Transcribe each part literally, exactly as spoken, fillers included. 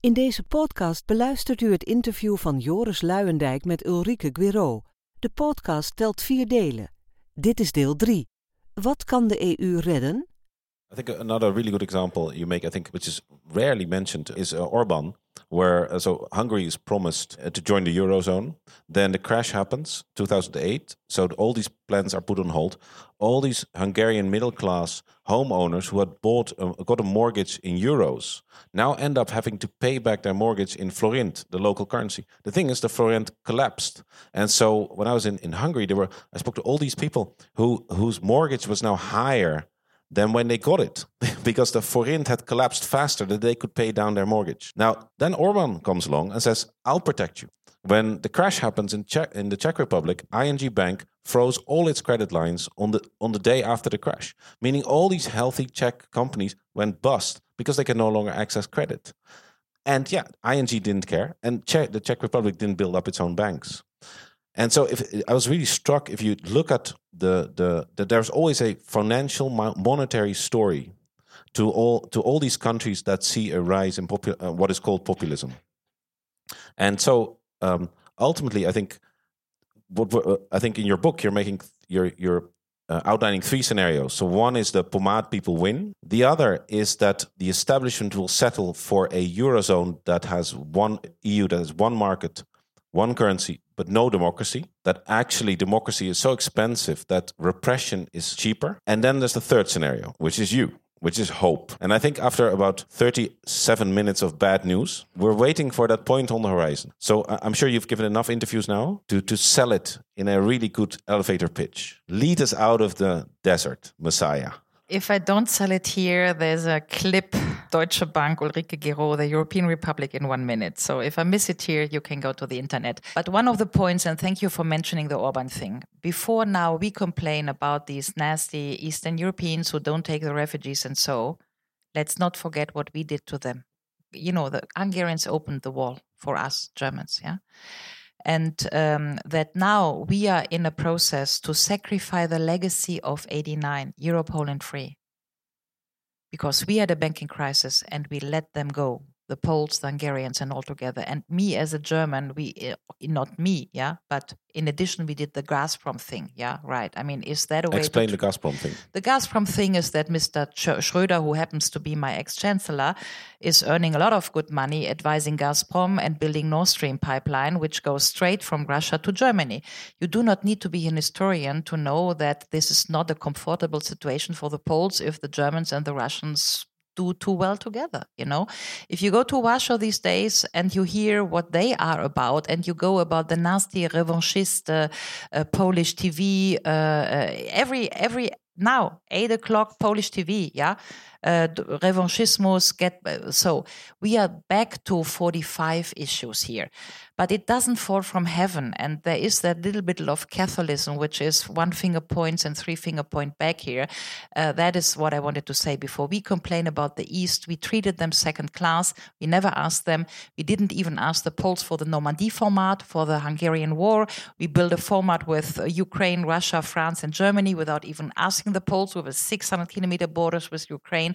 In deze podcast beluistert u het interview van Joris Luijendijk met Ulrike Guiraud. De podcast telt vier delen. Dit is deel drie. Wat kan de E U redden? I think another really good example you make, I think, which is rarely mentioned, is uh, Orban, where uh, so Hungary is promised uh, to join the Eurozone. Then the crash happens, two thousand eight. So all these plans are put on hold. All these Hungarian middle-class homeowners who had bought, uh, got a mortgage in euros, now end up having to pay back their mortgage in forint, the local currency. The thing is, the forint collapsed, and so when I was in, in Hungary, there were I spoke to all these people who whose mortgage was now higher than when they got it, because the forint had collapsed faster than they could pay down their mortgage. Now, then Orban comes along and says, I'll protect you. When the crash happens in Czech, in the Czech Republic, I N G Bank froze all its credit lines on the on the day after the crash, meaning all these healthy Czech companies went bust because they can no longer access credit. And yeah, I N G didn't care, and Czech, the Czech Republic didn't build up its own banks. And so, if I was really struck, if you look at the the, the there's always a financial monetary story to all to all these countries that see a rise in popu- uh, what is called populism. And so, um, ultimately, I think what uh, I think in your book you're making you're you're uh, outlining three scenarios. So one is the pomade people win. The other is that the establishment will settle for a eurozone that has one E U that has one market, one currency, but no democracy, that actually democracy is so expensive that repression is cheaper. And then there's the third scenario, which is you, which is hope. And I think after about thirty-seven minutes of bad news, we're waiting for that point on the horizon. So I'm sure you've given enough interviews now to, to sell it in a really good elevator pitch. Lead us out of the desert, Messiah. If I don't sell it here, there's a clip, Deutsche Bank, Ulrike Guiraud, the European Republic in one minute. So if I miss it here, you can go to the internet. But one of the points, and thank you for mentioning the Orban thing. Before now, we complain about these nasty Eastern Europeans who don't take the refugees and so. Let's not forget what we did to them. You know, the Hungarians opened the wall for us Germans, yeah? And um, that now we are in a process to sacrifice the legacy of eighty-nine, Euro, Poland free. Because we had a banking crisis and we let them go, the Poles, the Hungarians, and all together. And me as a German, we uh, not me, yeah, but in addition, we did the Gazprom thing, yeah, right. I mean, is that a way Explain to... the Gazprom thing. The Gazprom thing is that Mister Schröder, who happens to be my ex-chancellor, is earning a lot of good money advising Gazprom and building Nord Stream pipeline, which goes straight from Russia to Germany. You do not need to be an historian to know that this is not a comfortable situation for the Poles if the Germans and the Russians do too well together, you know. If you go to Warsaw these days and you hear what they are about, and you go about the nasty revanchist uh, uh, Polish T V, uh, uh, every every now eight o'clock Polish T V, yeah, uh, revanchismus. Get uh, so we are back to forty-five issues here. But it doesn't fall from heaven. And there is that little bit of Catholicism, which is one finger points and three finger point back here. Uh, that is what I wanted to say before. We complain about the East. We treated them second class. We never asked them. We didn't even ask the Poles for the Normandy format, for the Hungarian war. We built a format with uh, Ukraine, Russia, France, and Germany without even asking the Poles, with six hundred kilometer borders with Ukraine.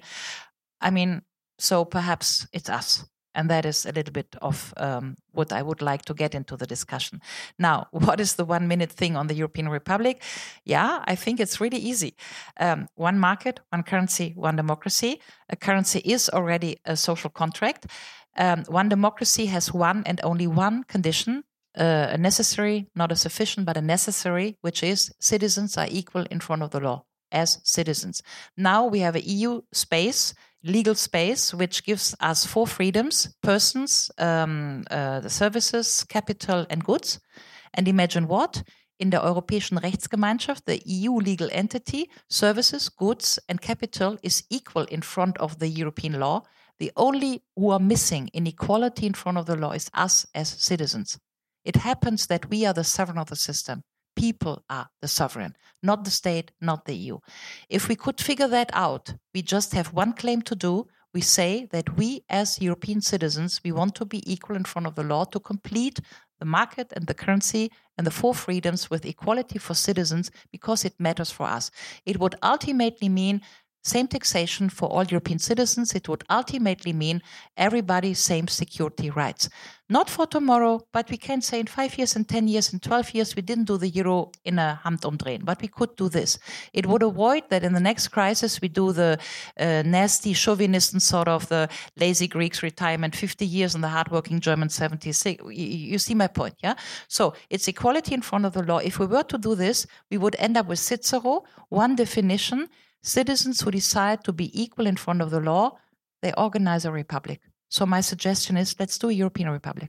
I mean, so perhaps it's us. And that is a little bit of um, what I would like to get into the discussion. Now, what is the one-minute thing on the European Republic? Yeah, I think it's really easy. Um, one market, one currency, one democracy. A currency is already a social contract. Um, one democracy has one and only one condition, uh, a necessary, not a sufficient, but a necessary, which is citizens are equal in front of the law as citizens. Now we have an E U space, legal space, which gives us four freedoms: persons, um, uh, the services, capital, and goods. And imagine what? In der Europäischen Rechtsgemeinschaft, the E U legal entity, services, goods, and capital is equal in front of the European law. The only who are missing in equality in front of the law is us as citizens. It happens that we are the sovereign of the system. People are the sovereign, not the state, not the E U. If we could figure that out, we just have one claim to do. We say that we as European citizens, we want to be equal in front of the law to complete the market and the currency and the four freedoms with equality for citizens because it matters for us. It would ultimately mean same taxation for all European citizens. It would ultimately mean everybody same security rights. Not for tomorrow, but we can say in five years, in ten years, in twelve years, we didn't do the euro in a Handumdrehen, but we could do this. It would avoid that in the next crisis we do the uh, nasty chauvinist sort of the lazy Greeks retirement, fifty years and the hardworking German seventy-six. You, you see my point, yeah? So it's equality in front of the law. If we were to do this, we would end up with Cicero, one definition, citizens who decide to be equal in front of the law, they organize a republic. So my suggestion is, let's do a European Republic.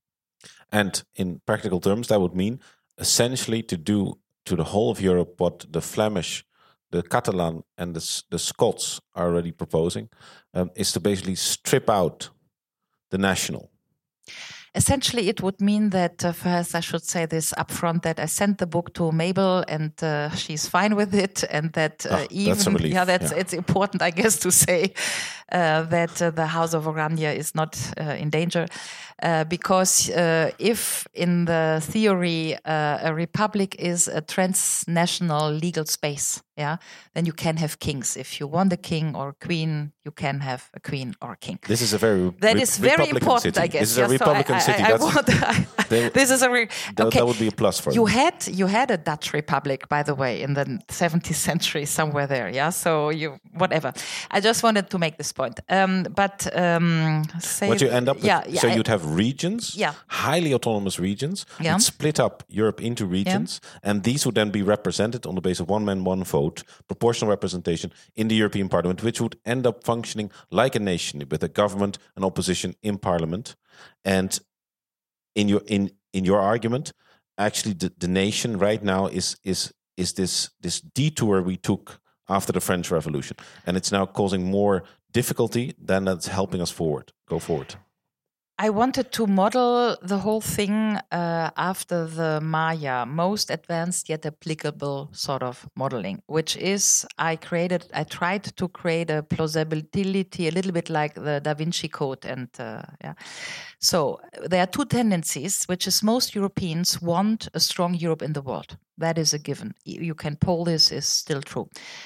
And in practical terms, that would mean essentially to do to the whole of Europe what the Flemish, the Catalan and the, the Scots are already proposing, um, is to basically strip out the national. Essentially, it would mean that, uh, first I should say this upfront, that I sent the book to Mabel and uh, she's fine with it, and that uh, oh, even that's a relief. yeah, that's yeah. it's important, I guess, to say uh, that uh, the House of Oranje is not uh, in danger, uh, because uh, if in the theory uh, a republic is a transnational legal space, yeah, then you can have kings. If you want a king or a queen, you can have a queen or a king. This is a very that re- is very Republican important, city. I guess. This is yeah, a Republican so I, city. I, I That's, want, I, they, this is a re- that, okay. that would be a plus for you them. had you had a Dutch Republic, by the way, in the seventeenth century, somewhere there. Yeah, so you whatever. I just wanted to make this point. Um, but um, say what you end up with, yeah, yeah, so I, you'd have regions, yeah. highly autonomous regions, Yeah. and split up Europe into regions, yeah. and these would then be represented on the basis of one man, one vote, proportional representation in the European Parliament, which would end up functioning like a nation with a government and opposition in Parliament. And in your in in your argument, actually, the, the nation right now is is is this this detour we took after the French Revolution, and it's now causing more difficulty than that's helping us forward. Go forward. I wanted to model the whole thing uh, after the Maya, most advanced yet applicable sort of modeling, which is I created, I tried to create a plausibility a little bit like the Da Vinci Code. And uh, yeah, so there are two tendencies, which is most Europeans want a strong Europe in the world. That is a given. You can poll this, is still true.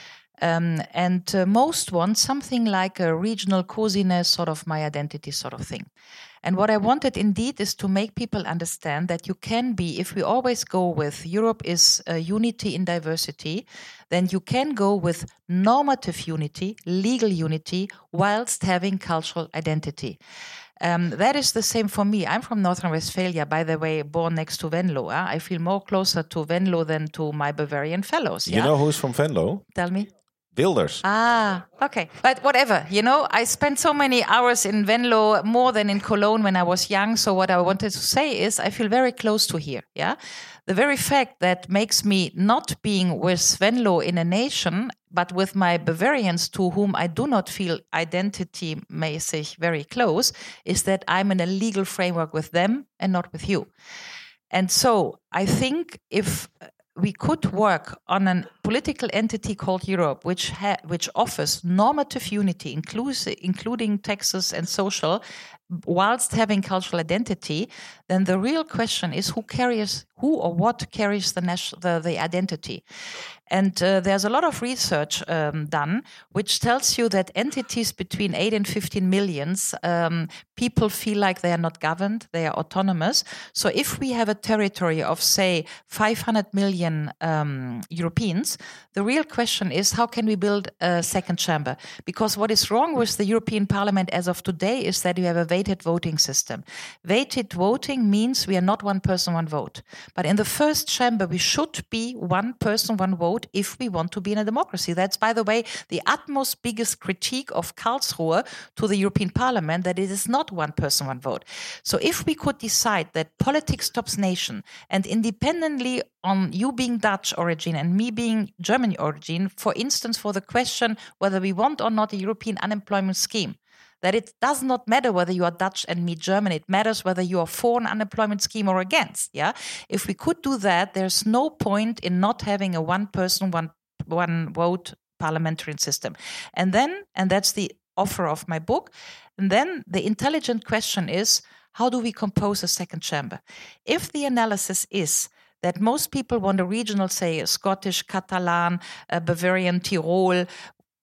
Um, and uh, most want something like a regional coziness, sort of my identity sort of thing. And what I wanted indeed is to make people understand that you can be, if we always go with Europe is uh, unity in diversity, then you can go with normative unity, legal unity, whilst having cultural identity. Um, that is the same for me. I'm from North Rhine-Westphalia, by the way, born next to Venlo. Huh? I feel more closer to Venlo than to my Bavarian fellows. You yeah? know who's from Venlo? Tell me. Wilders. Ah, okay. But whatever, you know, I spent so many hours in Venlo, more than in Cologne when I was young. So what I wanted to say is I feel very close to here, yeah? The very fact that makes me not being with Venlo in a nation, but with my Bavarians to whom I do not feel identity-mäßig very close, is that I'm in a legal framework with them and not with you. And so I think if we could work on a political entity called Europe, which ha- which offers normative unity, inclusive, including taxes and social, whilst having cultural identity, then the real question is who carries, who or what carries the nation, the, the identity. And uh, there's a lot of research um, done which tells you that entities between eight and fifteen millions, um, people feel like they are not governed, they are autonomous. So if we have a territory of, say, five hundred million um, Europeans, the real question is how can we build a second chamber? Because what is wrong with the European Parliament as of today is that you have a weighted voting system. Weighted voting means we are not one person, one vote. But in the first chamber, we should be one person, one vote if we want to be in a democracy. That's, by the way, the utmost biggest critique of Karlsruhe to the European Parliament, that it is not one person, one vote. So if we could decide that politics stops nation, and independently on you being Dutch origin and me being German origin, for instance, for the question whether we want or not a European unemployment scheme, that it does not matter whether you are Dutch and me German. It matters whether you are for an unemployment scheme or against. Yeah, if we could do that, there's no point in not having a one person, one one vote parliamentary system. And then, and that's the offer of my book. And then the intelligent question is, how do we compose a second chamber? If the analysis is that most people want a regional, say, a Scottish, Catalan, a Bavarian, Tyrol,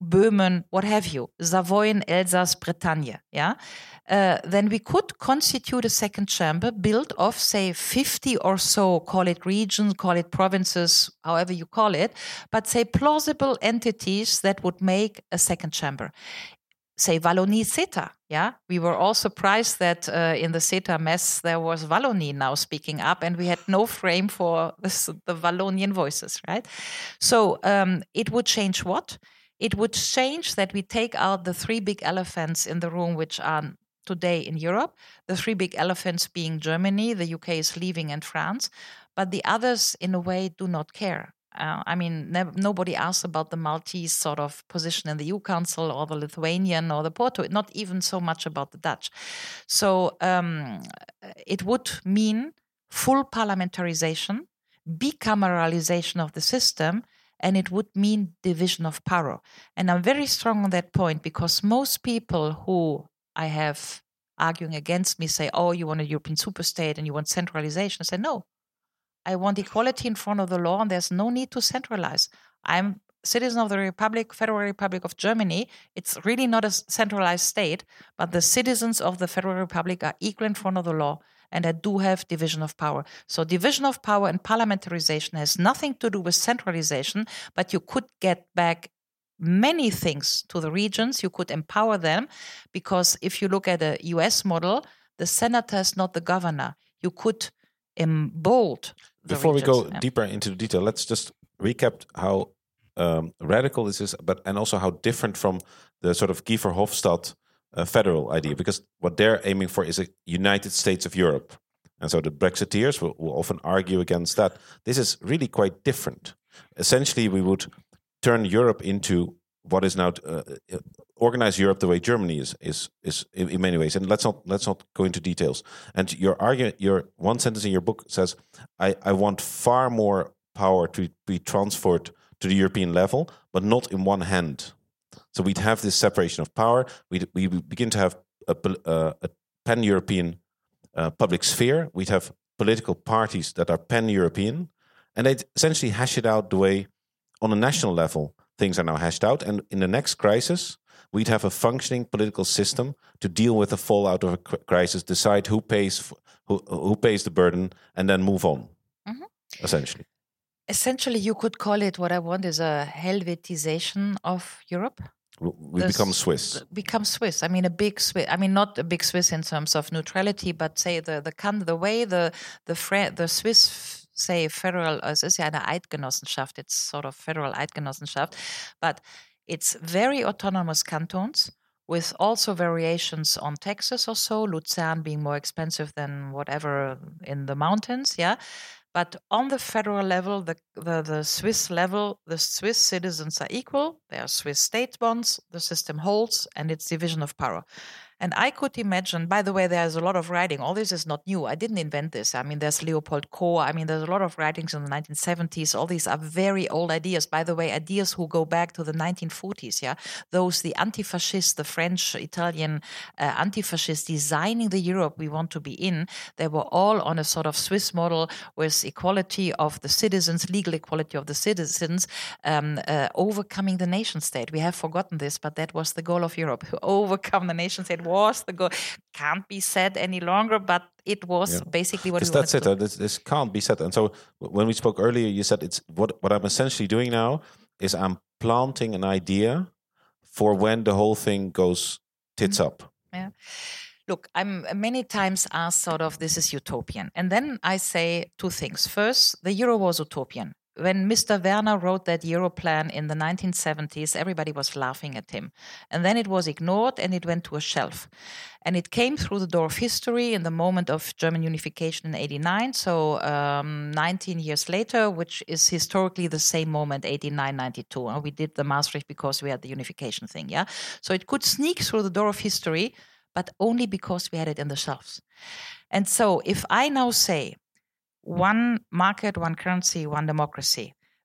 Böhmen, what have you, Savoyen, Elsass, Bretagne, yeah, uh, then we could constitute a second chamber built of, say, fifty or so, call it regions, call it provinces, however you call it, but say plausible entities that would make a second chamber. Say Wallonie CETA, yeah. We were all surprised that uh, in the CETA mess there was Wallonie now speaking up, and we had no frame for this, the Wallonian voices, right? So um, it would change what? It would change that we take out the three big elephants in the room, which are today in Europe. The three big elephants being Germany, the U K is leaving, and France. But the others, in a way, do not care. Uh, I mean, ne- nobody asks about the Maltese sort of position in the E U Council or the Lithuanian or the Porto, not even so much about the Dutch. So um, it would mean full parliamentarization, bicameralization of the system, and it would mean division of power. And I'm very strong on that point because most people who I have arguing against me say, oh, you want a European superstate and you want centralization. I say, no, I want equality in front of the law and there's no need to centralize. I'm citizen of the Republic, Federal Republic of Germany. It's really not a centralized state, but the citizens of the Federal Republic are equal in front of the law, and I do have division of power. So division of power and parliamentarization has nothing to do with centralization, but you could get back many things to the regions. You could empower them, because if you look at a U S model, the senator is not the governor. You could embold the Before regions. we go yeah. deeper into the detail, let's just recap how um, radical this is, but and also how different from the sort of Guy Verhofstadt uh, federal idea, because what they're aiming for is a United States of Europe. And so the Brexiteers will, will often argue against that. This is really quite different. Essentially, we would turn Europe into what is now uh, organize Europe the way Germany is is is in, in many ways. And let's not let's not go into details. And your argument, your one sentence in your book says, "I I want far more power to be transferred to the European level, but not in one hand." So we'd have this separation of power. We we begin to have a, a, a pan-European uh, public sphere. We'd have political parties that are pan-European, and they'd essentially hash it out the way on a national level things are now hashed out. And in the next crisis, we'd have a functioning political system to deal with the fallout of a crisis, decide who pays who who pays the burden, and then move on. Mm-hmm. Essentially. Essentially, you could call it, what I want is a Helvetization of Europe. We the become Swiss. Become Swiss. I mean, a big Swiss. I mean, not a big Swiss in terms of neutrality, but say the the the way the the Fre- the Swiss say federal. Es ist ja eine Eidgenossenschaft. It's sort of federal Eidgenossenschaft, but it's very autonomous cantons with also variations on taxes or so. Luzern being more expensive than whatever in the mountains. Yeah. But on the federal level, the, the, the Swiss level, the Swiss citizens are equal. They are Swiss state bonds. The system holds, and it's division of power. And I could imagine, by the way, there's a lot of writing. All this is not new. I didn't invent this. I mean, there's Leopold Kohr. I mean, there's a lot of writings in the nineteen seventies. All these are very old ideas. By the way, ideas who go back to the nineteen forties, yeah? Those, the anti-fascists, the French, Italian uh, anti-fascists designing the Europe we want to be in, they were all on a sort of Swiss model with equality of the citizens, legal equality of the citizens, um, uh, overcoming the nation state. We have forgotten this, but that was the goal of Europe, to overcome the nation state. Was the goal. Can't be said any longer, but it was yeah. basically what we wanted that's it. to do. This, this can't be said. And so when we spoke earlier, you said it's what what I'm essentially doing now is I'm planting an idea for when the whole thing goes tits mm-hmm. up. Yeah. Look, I'm many times asked sort of this is utopian. And then I say two things. First, the euro was utopian. When Mister Werner wrote that Euro plan in the nineteen seventies, everybody was laughing at him. And then it was ignored and it went to a shelf. And it came through the door of history in the moment of German unification in eighty-nine, so um, nineteen years later, which is historically the same moment, eighty-nine, ninety-two. And we did the Maastricht because we had the unification thing, yeah? So it could sneak through the door of history, but only because we had it in the shelves. And so if I now say, one market, one currency, one democracy,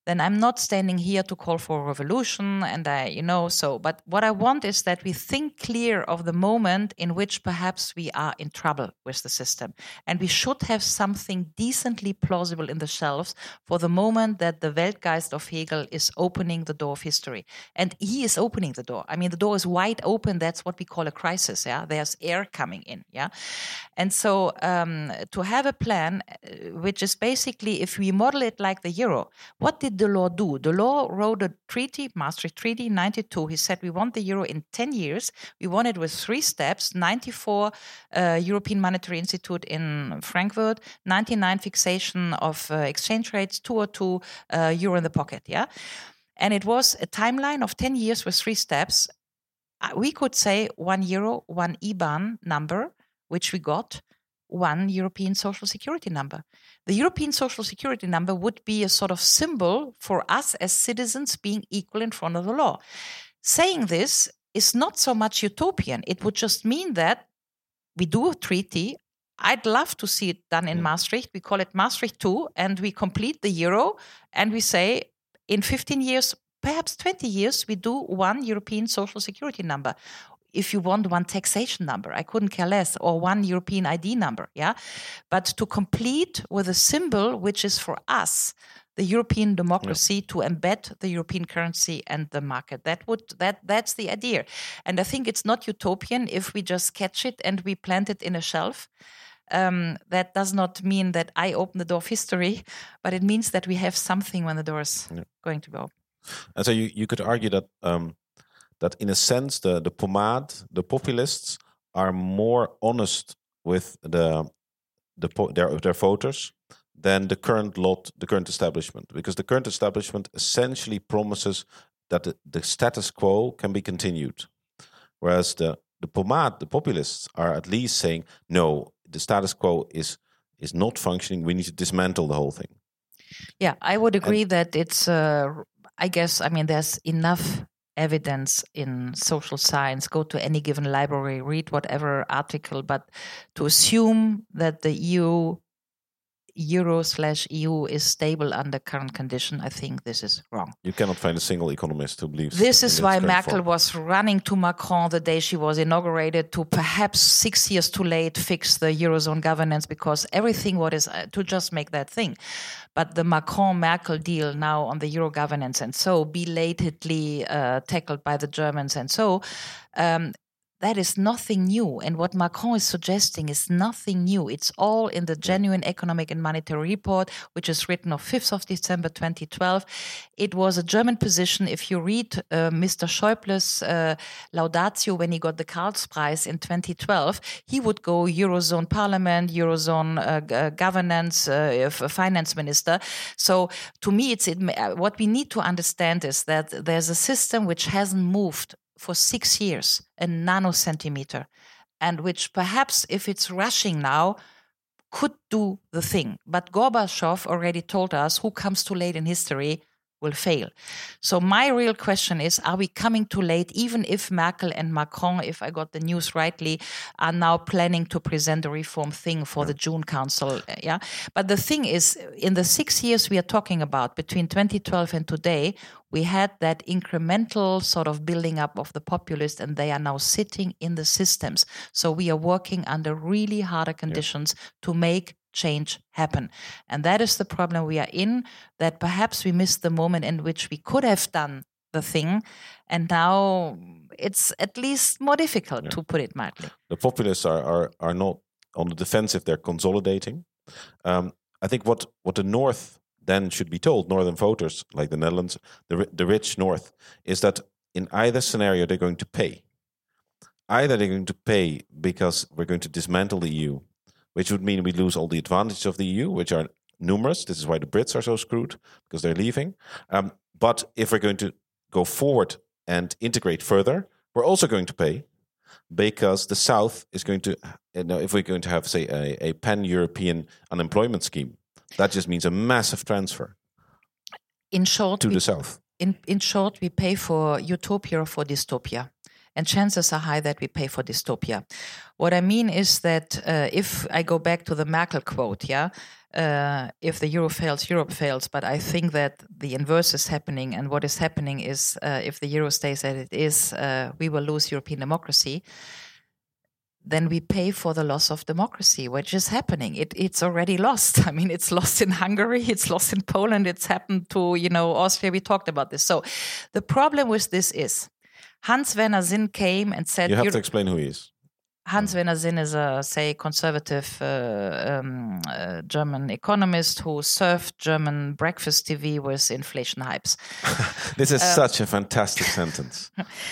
then I'm not standing here to call for a revolution. And I, you know, so, but what I want is that we think clear of the moment in which perhaps we are in trouble with the system. And we should have something decently plausible in the shelves for the moment that the Weltgeist of Hegel is opening the door of history. And he is opening the door. I mean, the door is wide open. That's what we call a crisis. Yeah, there's air coming in. Yeah, and so um, to have a plan, uh, which is basically, if we model it like the euro, what did Delors do? Delors wrote a treaty, Maastricht Treaty, ninety-two. He said we want the euro in ten years. We want it with three steps: ninety-four uh, European Monetary Institute in Frankfurt, ninety-nine fixation of uh, exchange rates, two oh two uh, euro in the pocket. Yeah. And it was a timeline of ten years with three steps. We could say one euro, one I B A N number, which we got, one European Social Security number. The European Social Security number would be a sort of symbol for us as citizens being equal in front of the law. Saying this is not so much utopian. It would just mean that we do a treaty. I'd love to see it done in mm. Maastricht. We call it Maastricht two, and we complete the euro, and we say, in fifteen years, perhaps twenty years, we do one European Social Security number. If you want one taxation number, I couldn't care less, or one European I D number, yeah? But to complete with a symbol which is for us, the European democracy, yeah. to embed the European currency and the market. That would that that's the idea. And I think it's not utopian if we just catch it and we plant it in a shelf. Um, that does not mean that I open the door of history, but it means that we have something when the door is yeah. going to go. And so you, you could argue that um, that in a sense the the pomade, the populists are more honest with the the their their voters than the current lot, the current establishment, because the current establishment essentially promises that the, the status quo can be continued, whereas the the pomade, the populists are at least saying no. The status quo is is not functioning. We need to dismantle the whole thing. Yeah, I would agree and, that it's, uh, I guess, I mean, there's enough evidence in social science. Go to any given library, read whatever article, but to assume that the E U, Euro slash E U is stable under current condition, I think this is wrong. You cannot find a single economist who believes. This is why Merkel form. was running to Macron the day she was inaugurated to perhaps six years too late fix the Eurozone governance, because everything what is uh, to just make that thing. But the Macron-Merkel deal now on the Euro governance and so belatedly uh, tackled by the Germans and so um, that is nothing new. And what Macron is suggesting is nothing new. It's all in the Genuine Economic and Monetary Report, which is written on fifth of December twenty twelve. It was a German position. If you read uh, Mister Schäuble's uh, Laudatio when he got the Karlspreis in twenty twelve, he would go Eurozone Parliament, Eurozone uh, g- governance, uh, finance minister. So to me, it's it, what we need to understand is that there's a system which hasn't moved for six years, a nanocentimeter, and which perhaps, if it's rushing now, could do the thing. But Gorbachev already told us who comes too late in history will fail. So my real question is, are we coming too late, even if Merkel and Macron, if I got the news rightly, are now planning to present a reform thing for the June Council? Yeah. But the thing is, in the six years we are talking about, between twenty twelve and today, we had that incremental sort of building up of the populists, and they are now sitting in the systems. So we are working under really harder conditions yeah. to make change happen. And that is the problem we are in, that perhaps we missed the moment in which we could have done the thing, and now it's at least more difficult, yeah. to put it mildly. The populists are, are, are not on the defensive, they're consolidating. Um, I think what, what the North then should be told, Northern voters like the Netherlands, the, the rich North, is that in either scenario they're going to pay. Either they're going to pay because we're going to dismantle the E U, which would mean we lose all the advantages of the E U, which are numerous. This is why the Brits are so screwed, because they're leaving. Um, but if we're going to go forward and integrate further, we're also going to pay, because the South is going to, you know, if we're going to have, say, a, a pan-European unemployment scheme, that just means a massive transfer in short, to we, the South. In, in short, we pay for utopia or for dystopia. and chances are high that we pay for dystopia. What I mean is that uh, if I go back to the Merkel quote, yeah, uh, if the euro fails, Europe fails. But I think that the inverse is happening, and what is happening is uh, if the euro stays as it is, uh, we will lose European democracy. Then we pay for the loss of democracy, which is happening. It, it's already lost. I mean, it's lost in Hungary, it's lost in Poland, it's happened to, you know, Austria. We talked about this. So the problem with this is Hans-Werner Sinn came and said... You have to explain who he is. Hans-Werner Sinn is a, say, conservative uh, um, uh, German economist who served German breakfast T V with inflation hypes. This is um, such a fantastic sentence.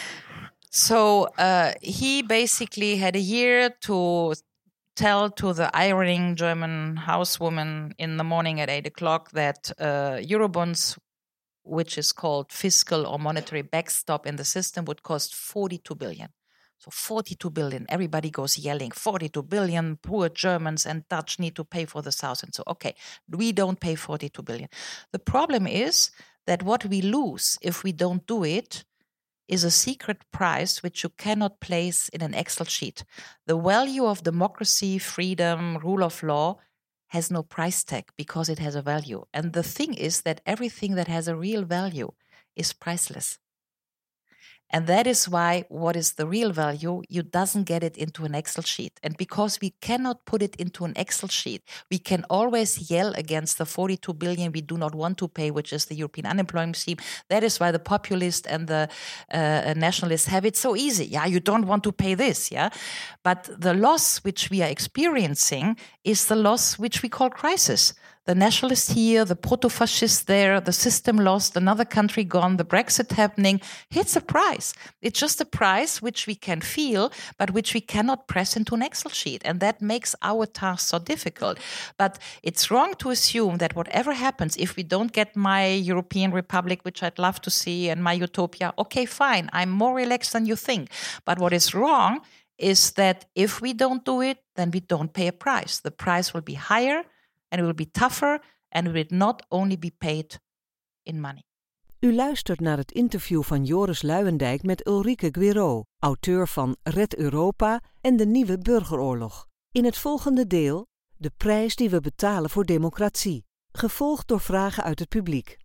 So uh, he basically had a year to tell to the ironing German housewoman in the morning at eight o'clock that uh, Eurobonds, which is called fiscal or monetary backstop in the system, would cost forty-two billion. So forty-two billion, everybody goes yelling, forty-two billion, poor Germans and Dutch need to pay for the South. And so, okay, we don't pay forty-two billion. The problem is that what we lose if we don't do it is a secret price which you cannot place in an Excel sheet. The value of democracy, freedom, rule of law has no price tag because it has a value. And the thing is that everything that has a real value is priceless. And that is why what is the real value, you doesn't get it into an Excel sheet. And because we cannot put it into an Excel sheet, we can always yell against the forty-two billion we do not want to pay, which is the European unemployment scheme. That is why the populists and the uh, nationalists have it so easy. Yeah, you don't want to pay this, yeah. But the loss which we are experiencing is the loss which we call crisis. The nationalists here, the proto-fascists there, the system lost, another country gone, the Brexit happening. It's a price. It's just a price which we can feel, but which we cannot press into an Excel sheet. And that makes our task so difficult. But it's wrong to assume that whatever happens, if we don't get my European Republic, which I'd love to see, and my utopia, okay, fine, I'm more relaxed than you think. But what is wrong is that if we don't do it, then we don't pay a price. The price will be higher, and it will be tougher, and it will not only be paid in money. U luistert naar het interview van Joris Luijendijk met Ulrike Guiraud, auteur van Red Europa en de Nieuwe Burgeroorlog. In het volgende deel de prijs die we betalen voor democratie, gevolgd door vragen uit het publiek.